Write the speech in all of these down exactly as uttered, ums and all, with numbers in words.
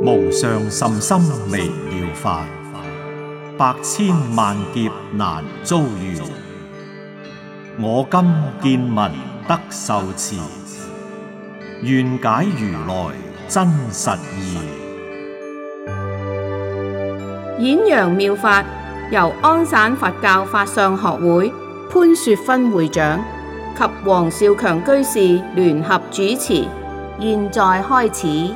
無上甚深微妙法，百千萬劫難遭遇。我今見聞得受持，願解如來真實義。 演揚妙法由安省佛教法相學會潘雪芬會長及黃少強居士聯合主持，現在開始。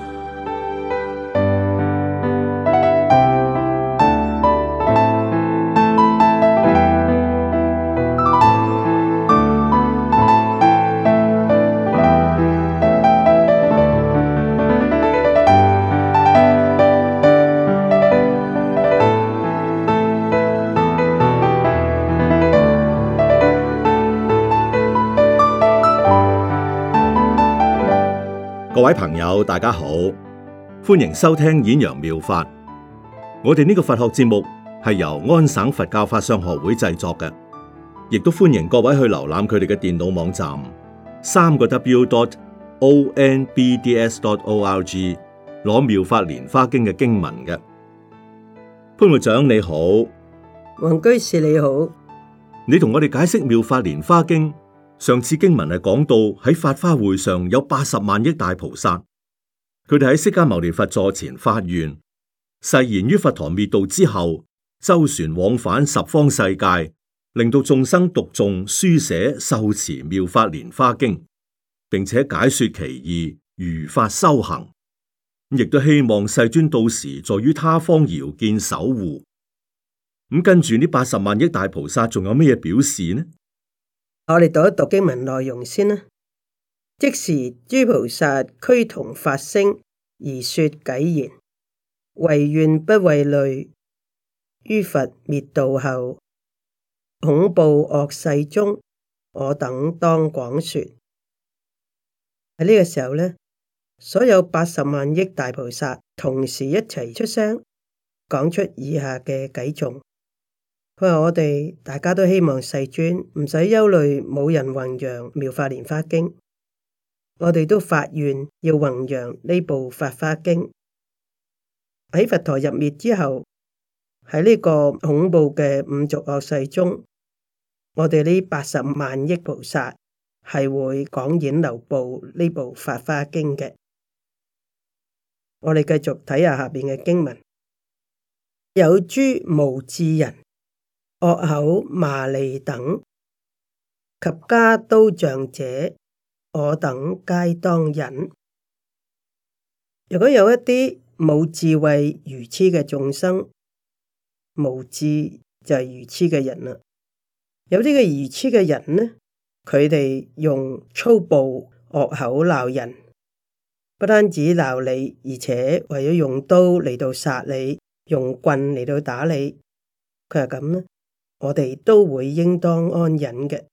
各位朋友，大家好，歡迎收聽演揚妙法。我哋呢個佛學節目係由安省佛教法相學會製作嘅，亦都歡迎各位去瀏覽佢哋嘅電腦網站三個 W dot O N B D S dot O R G 攞妙法蓮花經嘅經文嘅。潘會長你好， 黃居士你好， 你同我哋解釋妙法蓮花經。上次經文係講到喺法華會上有八十萬億大菩薩，佢哋喺釋迦牟尼佛座前發願，誓言於佛陀滅度之後，周旋往返十方世界，令到眾生讀誦、書寫、受持妙法蓮花經，並且解說其義，如法修行。亦都希望世尊到時在於他方遙見守護。咁跟住呢八十萬億大菩薩仲有咩表示呢？ 我哋讀一讀經文內容先啦。即時諸菩薩俱同發聲而說偈言：唯願不畏慮，於佛滅度後，恐怖惡世中，我等當廣說。喺呢個時候咧，所有八十萬億大菩薩同時一齊出聲，講出以下嘅偈頌。佢話我哋大家都希望世尊唔使憂慮，冇人弘揚妙法蓮花經，我哋都發願要弘揚呢部法華經。喺佛陀入滅之後，喺呢個恐怖嘅五濁惡世中，我哋呢八十萬億菩薩係會講演流布呢部法華經嘅。我哋繼續睇下下邊嘅經文：有諸無智人，惡口罵詈等，及加刀杖者，我等皆當忍。如果有一啲冇智慧愚癡嘅眾生，無智就係愚癡嘅人啦。有啲嘅愚癡嘅人呢，佢哋用粗暴惡口鬧人，不單止鬧你，而且為咗用刀嚟到殺你，用棍嚟到打你，佢係咁呢，我哋都會應當安忍嘅。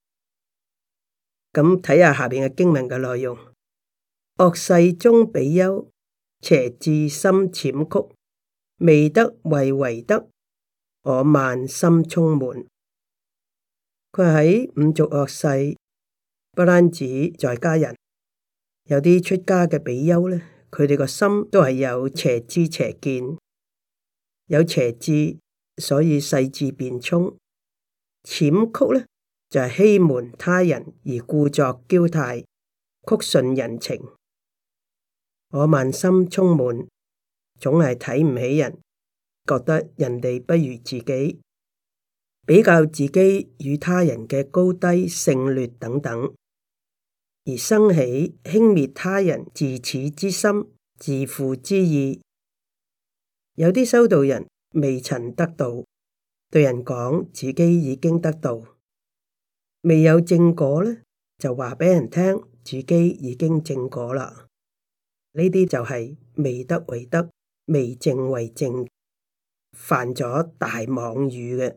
咁睇下下邊嘅經文嘅內容：惡世中比丘，邪智心諂曲，未得為為得，我慢心充滿。佢喺五濁惡世，不單止在家人，有啲出家嘅比丘咧，佢哋個心都係有邪知邪見，有邪智。所以世智辯聰，諂曲呢就係、是、欺瞞他人而故作嬌態，曲順人情。我慢心充滿，總係睇唔起人，覺得人哋不如自己，比較自己與他人嘅高低勝劣等等，而生起輕蔑他人自恃之心、自負之意。有啲修道人未曾得道，對人講自己已經得道；未有正果呢，就話俾人聽自己已經正果啦。呢啲就係未得為得，未正為正，犯咗大妄語嘅。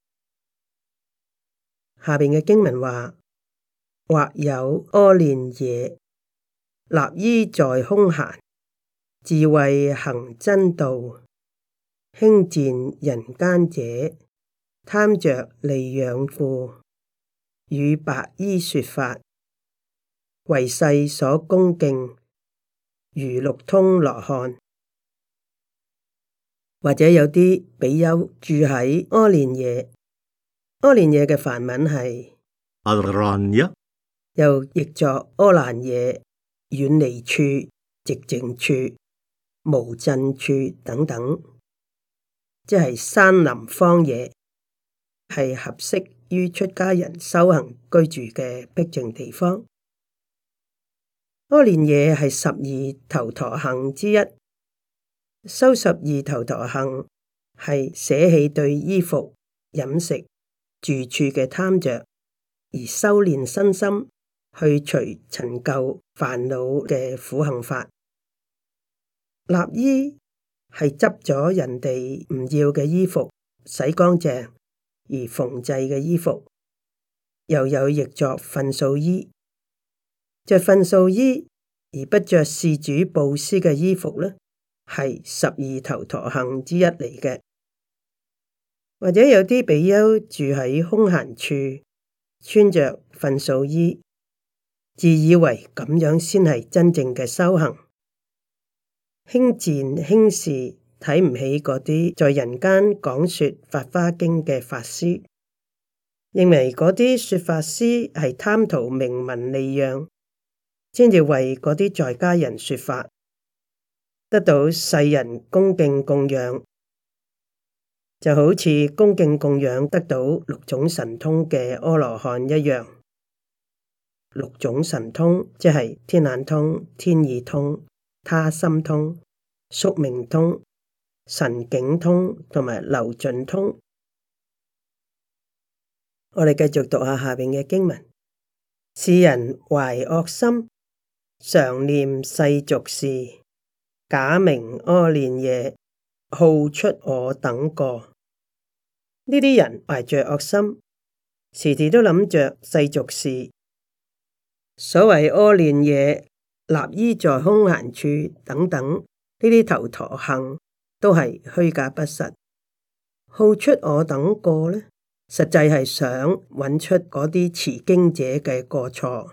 下邊嘅經文話：或有阿練惹，立依在空閑，自謂行真道。輕賤人間者，貪着利養故，與白衣說法，為世所恭敬，如六通羅漢， 或者有啲比丘住喺阿連耶，阿連耶嘅梵文係阿蘭耶， 又譯作阿蘭耶、遠離處、寂靜處、無震處等等，即係山林荒野，係合適於出家人修行居住嘅僻靜地方。阿連耶係十二頭陀行之一，修十二頭陀行係捨棄對衣服、飲食、住處嘅貪着，而修煉身心，去除陳舊煩惱嘅苦行法。立衣係執咗人哋唔要嘅衣服，洗乾淨而縫製嘅衣服，又有譯作糞掃衣。着糞掃衣而不着事主布施嘅衣服呢，係十二頭陀行之一嚟嘅。或者有啲比丘住喺空閒處，穿着糞掃衣，自以為咁樣先係真正嘅修行，輕賤輕視，睇唔起嗰啲在人間講說法華經嘅法師，認為嗰啲說法師係貪圖名聞利養，先至為嗰啲在家人說法，得到世人恭敬供養，就好似恭敬供養得到六種神通嘅阿羅漢一樣。六種神通即係天眼通、天耳通、他心通、宿命通、神境通同埋流盡通。我哋繼續讀下下邊嘅經文：是人懷惡心，常念世俗事，假名阿連耶，好出我等過。呢啲人懷着惡心，時時都諗着世俗事。所謂阿連耶、立衣在空閒處等等，呢啲頭陀行都係虛假不實。好出我等過呢，實際係想揾出嗰啲持經者嘅過錯。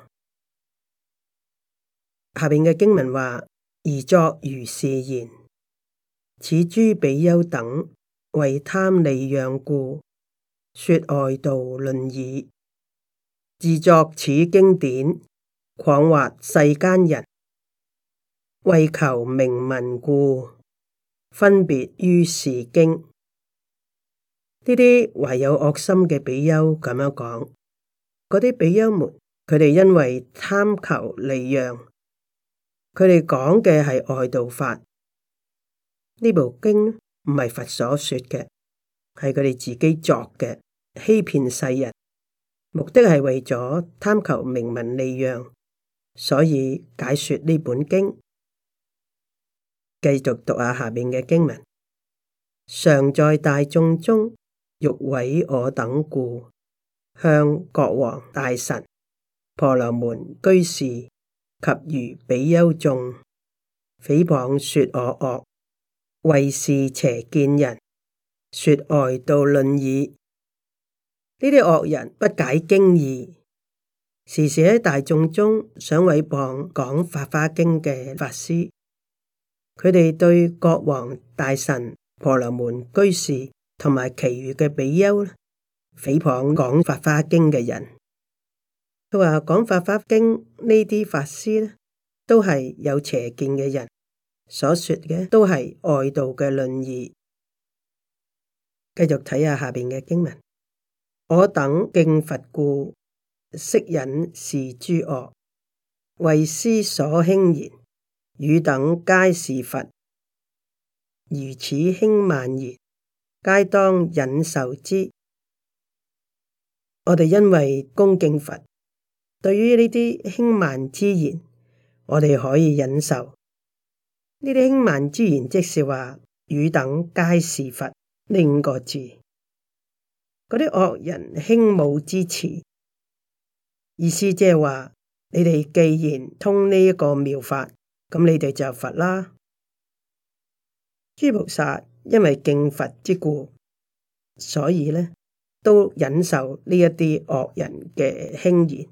下邊嘅經文話：而作如是言，此諸比丘等為貪利養故，說外道論議，自作此經典，誑惑世間人，為求名聞故，分別於是經。呢啲懷有惡心嘅比丘咁樣講，嗰啲比丘們，佢哋因為貪求利養，佢哋講嘅係外道法。呢部經唔係佛所說嘅，係佢哋自己作嘅，欺騙世人，目的係為咗貪求名聞利養，所以解說呢本經。繼續讀下下面嘅經文：常在大眾中，欲毀我等故，向國王大臣、婆羅門居士及餘比丘眾，誹謗說我惡，為是邪見人，說外道論議。呢啲惡人不解經義，時時喺大眾中想毀謗講法華經嘅法師。佢哋對國王、大臣、婆羅門居士同埋其餘嘅比丘誹謗講法華經嘅人。佢話講法華經呢啲法師呢，都係有邪見嘅人，所說嘅都係外道嘅論議。繼續睇下下邊嘅經文：我等敬佛故，悉忍是諸惡，為師所輕言，汝等皆是佛，如此輕慢言，皆當忍受之。我哋因為恭敬佛，對於呢啲輕慢之言，我哋可以忍受。呢啲輕慢之言，即是話汝等皆是佛呢五個字。嗰啲惡人輕侮之詞，意思即係話你哋既然通呢一個妙法，咁你哋就佛啦。諸菩薩因為敬佛之故，所以呢都忍受呢一啲惡人嘅輕言。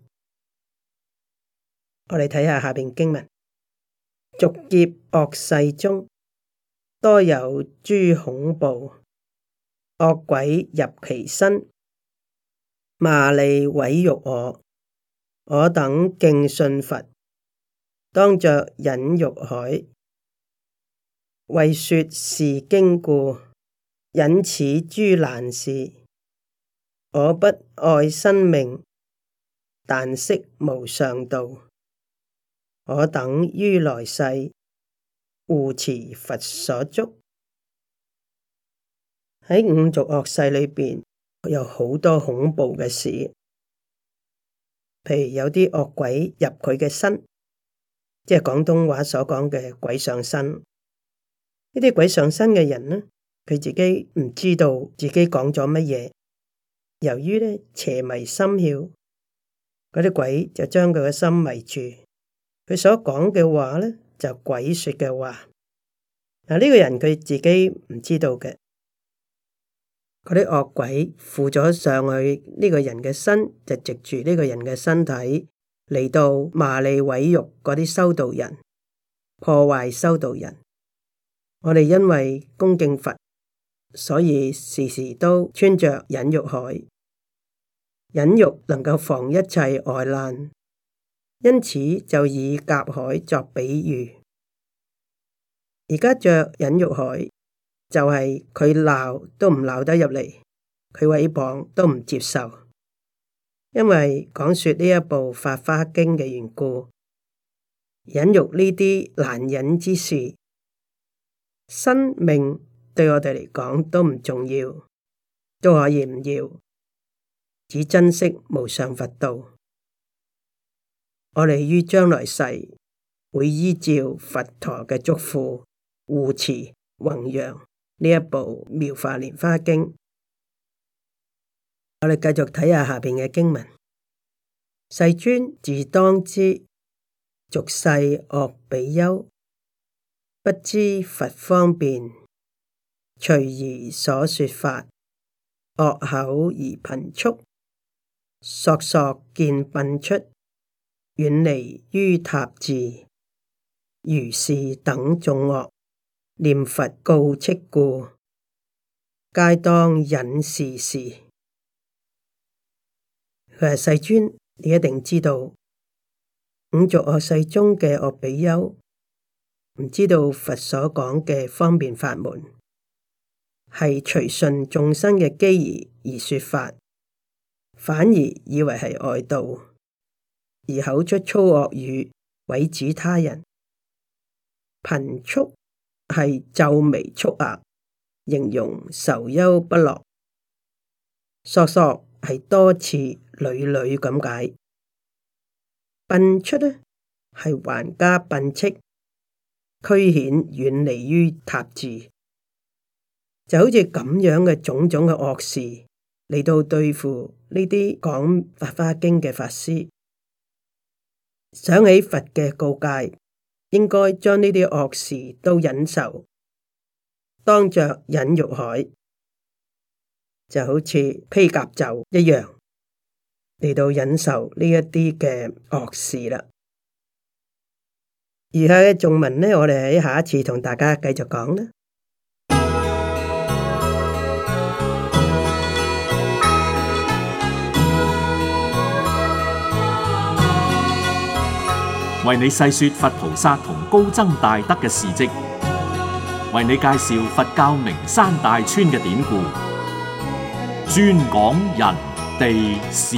我哋睇下下邊經文：逐劫惡世中， 多有諸恐怖，惡鬼入其身，罵詈毀辱我。我等敬信佛，當着忍辱海，為說是經故，忍此諸難事。我不愛生命，但識無上道。我等於來世，護持佛所囑。喺五濁惡世裏邊，有好多恐怖嘅事，譬如有啲惡鬼入佢嘅身，即係廣東話所講嘅鬼上身。呢啲鬼上身嘅人呢，佢自己唔知道自己講咗乜嘢，由於呢邪迷心竅，嗰啲鬼就將佢嘅心迷住，佢所講嘅話呢，就鬼說嘅話。嗱，呢個人佢自己唔知道嘅。嗰啲惡鬼附咗上去呢個人嘅身，就藉住呢個人嘅身體嚟到罵詈毀辱嗰啲修道人，破壞修道人。我哋因為恭敬佛，所以時時都穿着忍辱鎧，忍辱能夠防一切外難，因此就以甲鎧作比喻。而家着忍辱鎧，就係佢鬧都唔鬧得入嚟，佢毀謗都唔接受，因為講說呢一部《法華經》嘅緣故，忍辱呢啲難忍之事，生命對我哋嚟講都唔重要，都可以唔要，只珍惜無上佛道。我哋於將來世會依照佛陀嘅囑咐護持弘揚呢一部《妙法蓮華經》，我哋繼續睇下下邊嘅經文。世尊自當知，俗世惡比丘，不知佛方便，隨宜所說法，惡口而頻速，索索見擯出，遠離於塔寺。如是等眾惡，念佛告敕故，皆當忍是事。佢話世尊，你一定知道五濁惡世中嘅惡比丘，唔知道佛所講嘅方便法門，係隨順眾生嘅機宜而說法，反而以為係外道，而口出粗惡語，毀指他人。頻速係皺眉蹙額，形容愁憂不樂。索索係多次屢屢咁解。擯出呢係還加擯斥，驅遣遠離於塔寺，就好似咁樣嘅種種嘅惡事嚟到對付呢啲講法華經嘅法師。想起佛嘅告誡，應該將呢啲惡事都忍受，當着忍辱鎧，就好似披甲胄一樣嚟到忍受呢一啲嘅惡事啦。以下嘅頌文呢，我哋喺下一次同大家繼續講啦。 為你細說佛菩薩同高僧大德嘅事跡，為你介紹佛教名山大川嘅典故，專講人地事。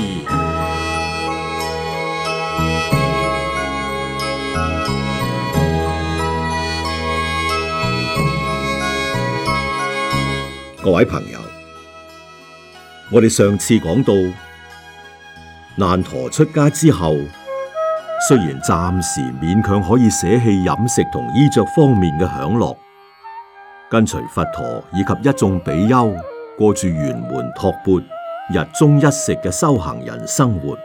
各位朋友，我哋上次講到，難陀出家之後，雖然暫時勉強可以捨棄飲食同衣着方面嘅享樂，跟隨佛陀以及一眾比丘過住圓門托缽、日中一食嘅修行人生活，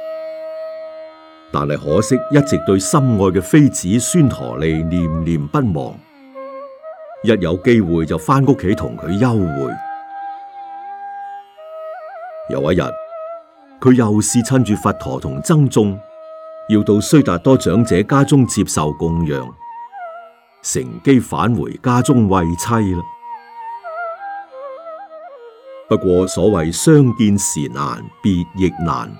但係可惜一直對心愛嘅妃子孫陀利念念不忘，一有機會就返屋企同佢幽會。有一日，佢又是趁住佛陀同僧眾要到須達多長者家中接受供養， 乘機返回家中慰妻啦。不過所謂相見時難，別亦難。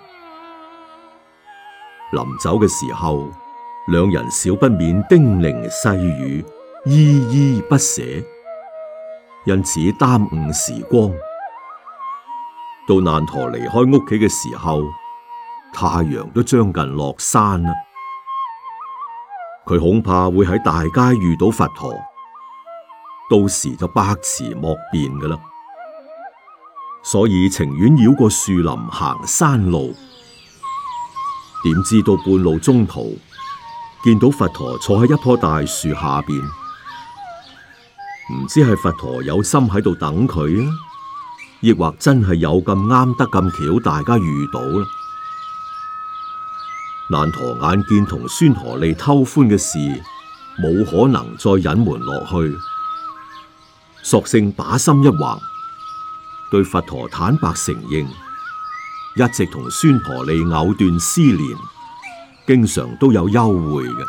臨走嘅時候，兩人少不免叮嚀細語，依依不捨，因此耽誤時光。到難陀離開屋企嘅時候，太陽都將近落山啦。佢恐怕會喺大街遇到佛陀，到時就百詞莫辯㗎喇。所以情願繞過樹林行山路。點知到半路中途，見到佛陀坐喺一棵大樹下邊，唔知係佛陀有心喺度等佢啊，亦或真係有咁啱得咁巧，大家遇到啦。難陀眼見同孫陀利偷歡嘅事冇可能再隱瞞落去，索性把心一橫，對佛陀坦白承認，一直同孫陀利藕斷絲連，經常都有幽會嘅。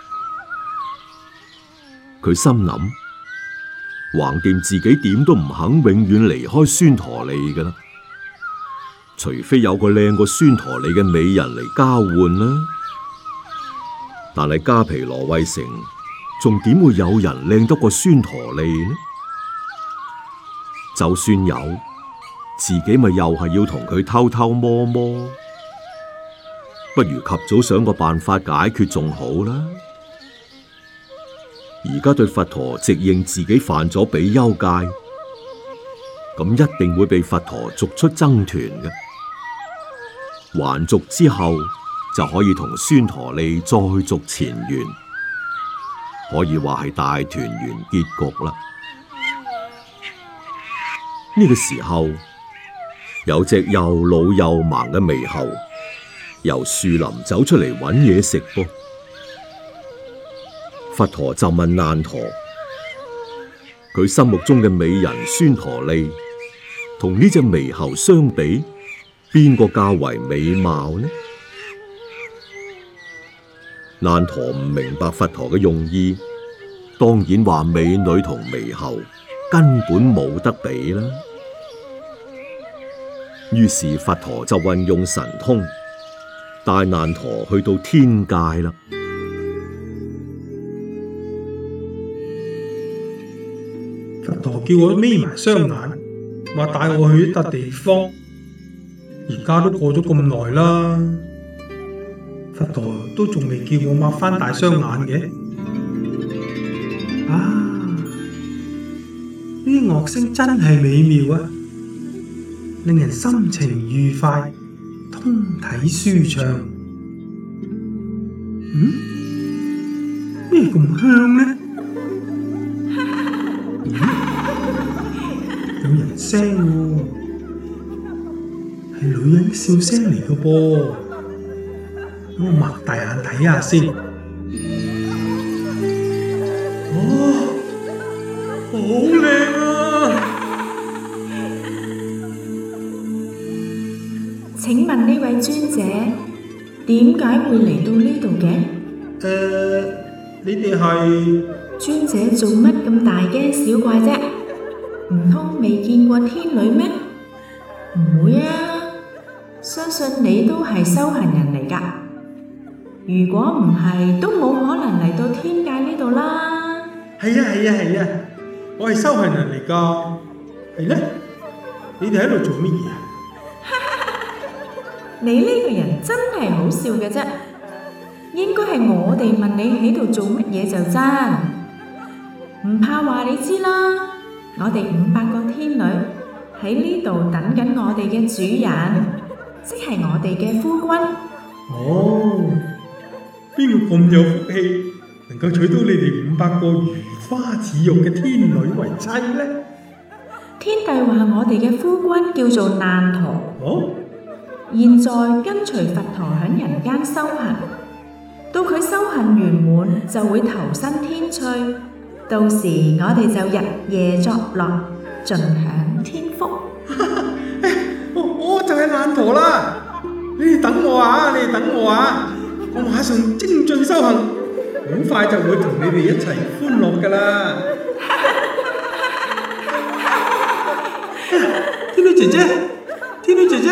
佢心諗，橫掂自己點都唔肯永遠離開孫陀利㗎啦，除非有個靚過孫陀利嘅美人嚟交換啦。但係迦毗羅衛城仲點會有人靚得過孫陀利呢？就算有，自己咪又係要同佢偷偷摸摸，不如及早想個辦法解決仲好啦。而家對佛陀直認自己犯咗比丘戒，咁一定會被佛陀逐出僧團嘅。還俗之後就可以同孫陀利再續前緣，可以話係大團圓結局啦。呢個時候，有隻又老又盲嘅獼猴由樹林走出嚟搵嘢食噃。佛陀就問難陀，佢心目中嘅美人孫陀利同呢隻獼猴相比，邊個較為美貌呢？難陀唔明白佛陀嘅用意，當然話美女同獼猴根本冇得比啦。於是佛陀就運用神通，帶難陀去到天界啦。 佛陀叫我眯埋雙眼，話帶我去一笪地方。而家都過咗咁耐啦，佛陀都仲未叫我擘翻大雙眼嘅。啊，呢啲樂聲真係美妙啊，令人心情愉快，通體舒暢。嗯？咩咁香呢？有人聲喎，係女人笑聲嚟嘅噃。我擘大眼睇下先。哦，好靚啊！ 請問呢位尊者點解會嚟到呢度嘅？ 誒、呃，你哋係？ 尊者做乜咁大驚小怪啫？唔通未見過天女咩？唔會啊，相信你都係修行人嚟㗎。如果唔係，都冇可能嚟到天界呢度啦。 係啊係啊係啊，我係修行人嚟㗎。係咧，你哋喺度做乜嘢啊？ 你呢個人真係好笑嘅啫，應該係我哋問你喺度做乜嘢就真，唔怕話你知啦。我哋五百個天女喺呢度等緊我哋嘅主人，即係我哋嘅夫君。 哦，邊個咁有福氣，能夠娶到你哋五百個如花似玉嘅天女為妻呢？ 天帝話我哋嘅夫君叫做難陀。 哦， 現在跟隨佛陀響人間修行，到佢修行圓滿就會投身天趣，到時我哋就日夜作樂，盡享天福。 我我就係難陀啦，你哋等我啊！你哋等我啊！我馬上精進修行， 好快就會同你哋一齊歡樂噶啦。天女姐姐，天女姐姐，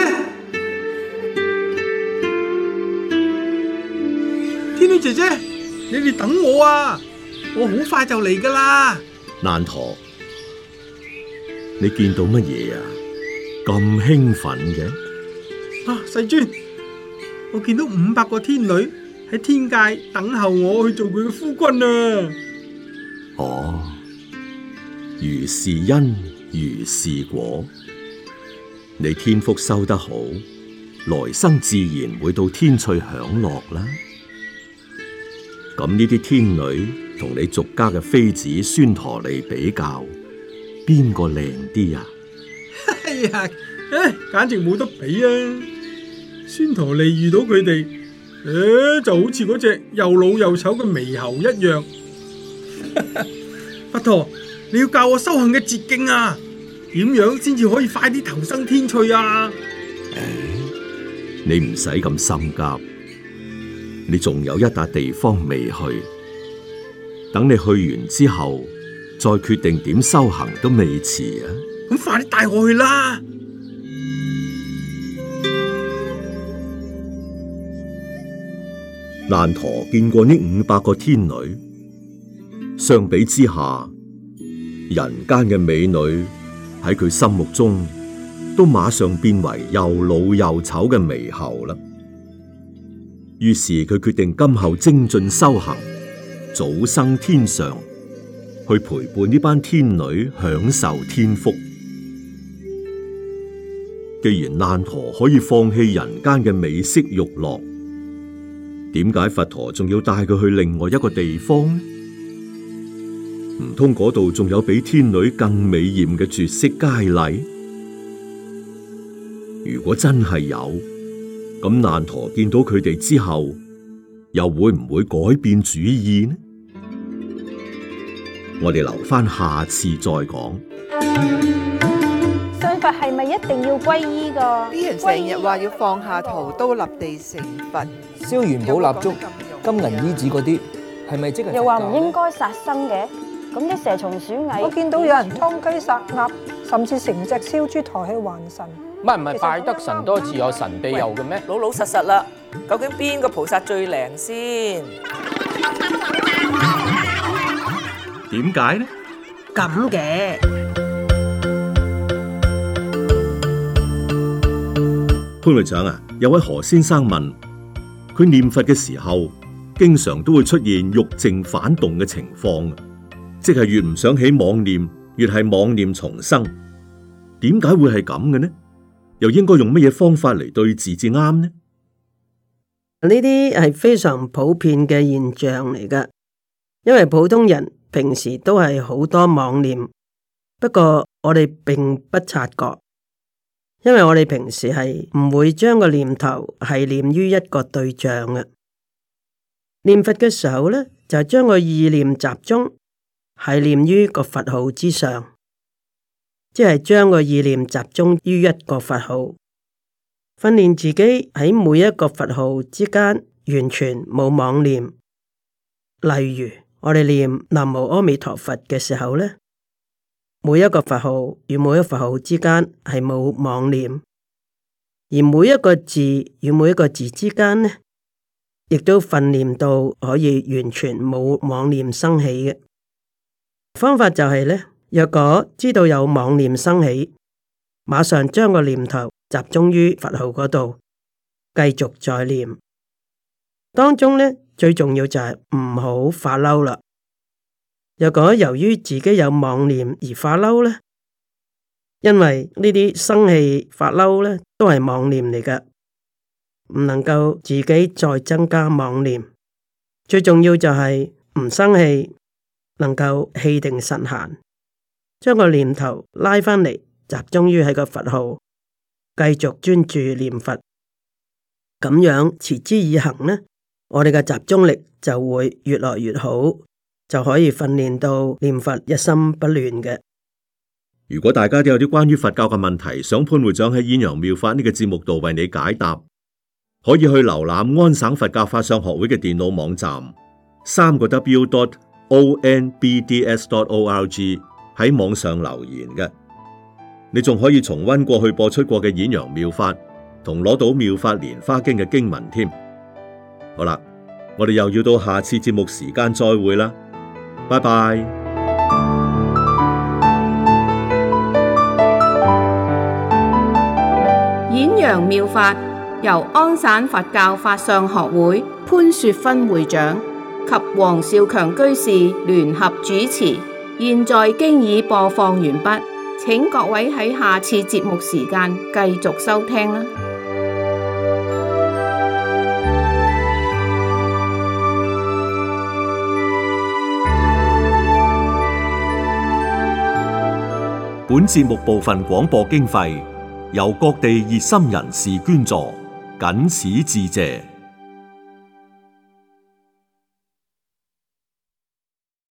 天女姐姐，你哋等我啊！我好快就嚟噶啦。 難陀，你見到乜嘢啊？咁興奮嘅？ 啊，世尊，我見到五百個天女喺天界等候我去做佢嘅夫君啊！ 哦，如是因，如是果。你天福修得好，來生自然會到天趣享樂啦。咁呢啲天女同你俗家嘅妃子孫陀利比較，邊個靚啲啊？ 哎呀，唉，簡直冇得比啊！孫陀利遇到佢哋，誒，就好似嗰隻又老又醜嘅獼猴一樣。佛陀，你要教我修行嘅捷徑啊！點樣先至可以快啲投生天趣啊？ 你唔使咁心急，你仲有一笪地方未去，等你去完之後再決定點修行都未遲啊！ 咁快啲帶我去啦！ 難陀見過呢五百個天女，相比之下，人間嘅美女喺佢心目中都馬上變為又老又醜嘅獼猴啦。於是佢決定今後精進修行，早生天上，去陪伴呢班天女享受天福。既然難陀可以放棄人間嘅美色欲樂，點解佛陀仲要帶佢去另外一個地方呢？唔通嗰度仲有比天女更美艷嘅絕色佳麗？如果真係有，咁難陀見到佢哋之後，又會唔會改變主意呢？我哋留返下，下次再講。 信佛係咪一定要皈依㗎？ 啲人成日話要放下屠刀立地成佛， 燒元寶蠟燭、金銀衣紙嗰啲，係咪即係？ 又話唔應該殺生嘅，咁啲蛇蟲鼠蟻， 我見到有人劏雞殺鴨，甚至成隻燒豬抬去還神。 唔係唔係，拜得神多自有神庇佑嘅咩？ 老老實實啦，究竟邊個菩薩最靈先？ 點解呢？ 咁嘅潘會長啊，有位何先生問，佢念佛嘅時候，經常都會出現欲靜反動嘅情況，即係越唔想起妄念，越係妄念重生。點解會係咁嘅呢？又應該用乜嘢方法嚟對治至啱呢？ 呢啲係非常普遍嘅現象嚟㗎，因為普通人平時都係好多妄念，不過我哋並不察覺，因為我哋平時係唔會將個念頭係念於一個對象嘅。念佛嘅時候咧，就將個意念集中係念於個佛號之上。即係將個意念集中於一個佛號，訓練自己喺每一個佛號之間完全冇妄念。例如我哋念南無阿彌陀佛嘅時候咧，每一個佛號與每一個佛號之間係冇妄念，而每一個字與每一個字之間呢，亦都訓練到可以完全冇妄念生起嘅。方法就係咧。若果知道有妄念生起，馬上將個念頭集中於佛號嗰度，繼續再念。當中呢，最重要就係唔好發嬲啦。若果由於自己有妄念而發嬲呢，因為呢啲生氣發嬲呢都係妄念嚟㗎，唔能夠自己再增加妄念。最重要就係唔生氣，能夠氣定神閒。將個念頭拉返嚟，集中於喺個佛號，繼續專注念佛，咁樣持之以恆呢，我哋嘅集中力就會越來越好，就可以訓練到念佛一心不亂嘅。 如果大家都有啲關於佛教嘅問題，想潘會長喺《演揚妙法》呢個節目度為你解答，可以去瀏覽安省佛教法相學會嘅電腦網站， 三個 W dot O N B D S dot O R G 喺網上留言嘅。你仲可以重溫過去播出過嘅演揚妙法，同攞到妙法蓮華經嘅經文添。好啦，我哋又要到下次節目時間再會啦，拜拜。 演揚妙法由安省佛教法相學會潘雪芬會長及黃少強居士聯合主持，現在經已播放完畢。請各位喺下次節目時間繼續收聽啦。 本節目部分廣播經費由各地熱心人士捐助，謹此致謝。